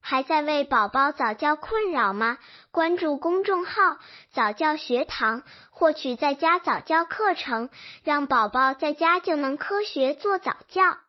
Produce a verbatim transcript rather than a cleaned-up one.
还在为宝宝早教困扰吗？关注公众号早教学堂，获取在家早教课程，让宝宝在家就能科学做早教。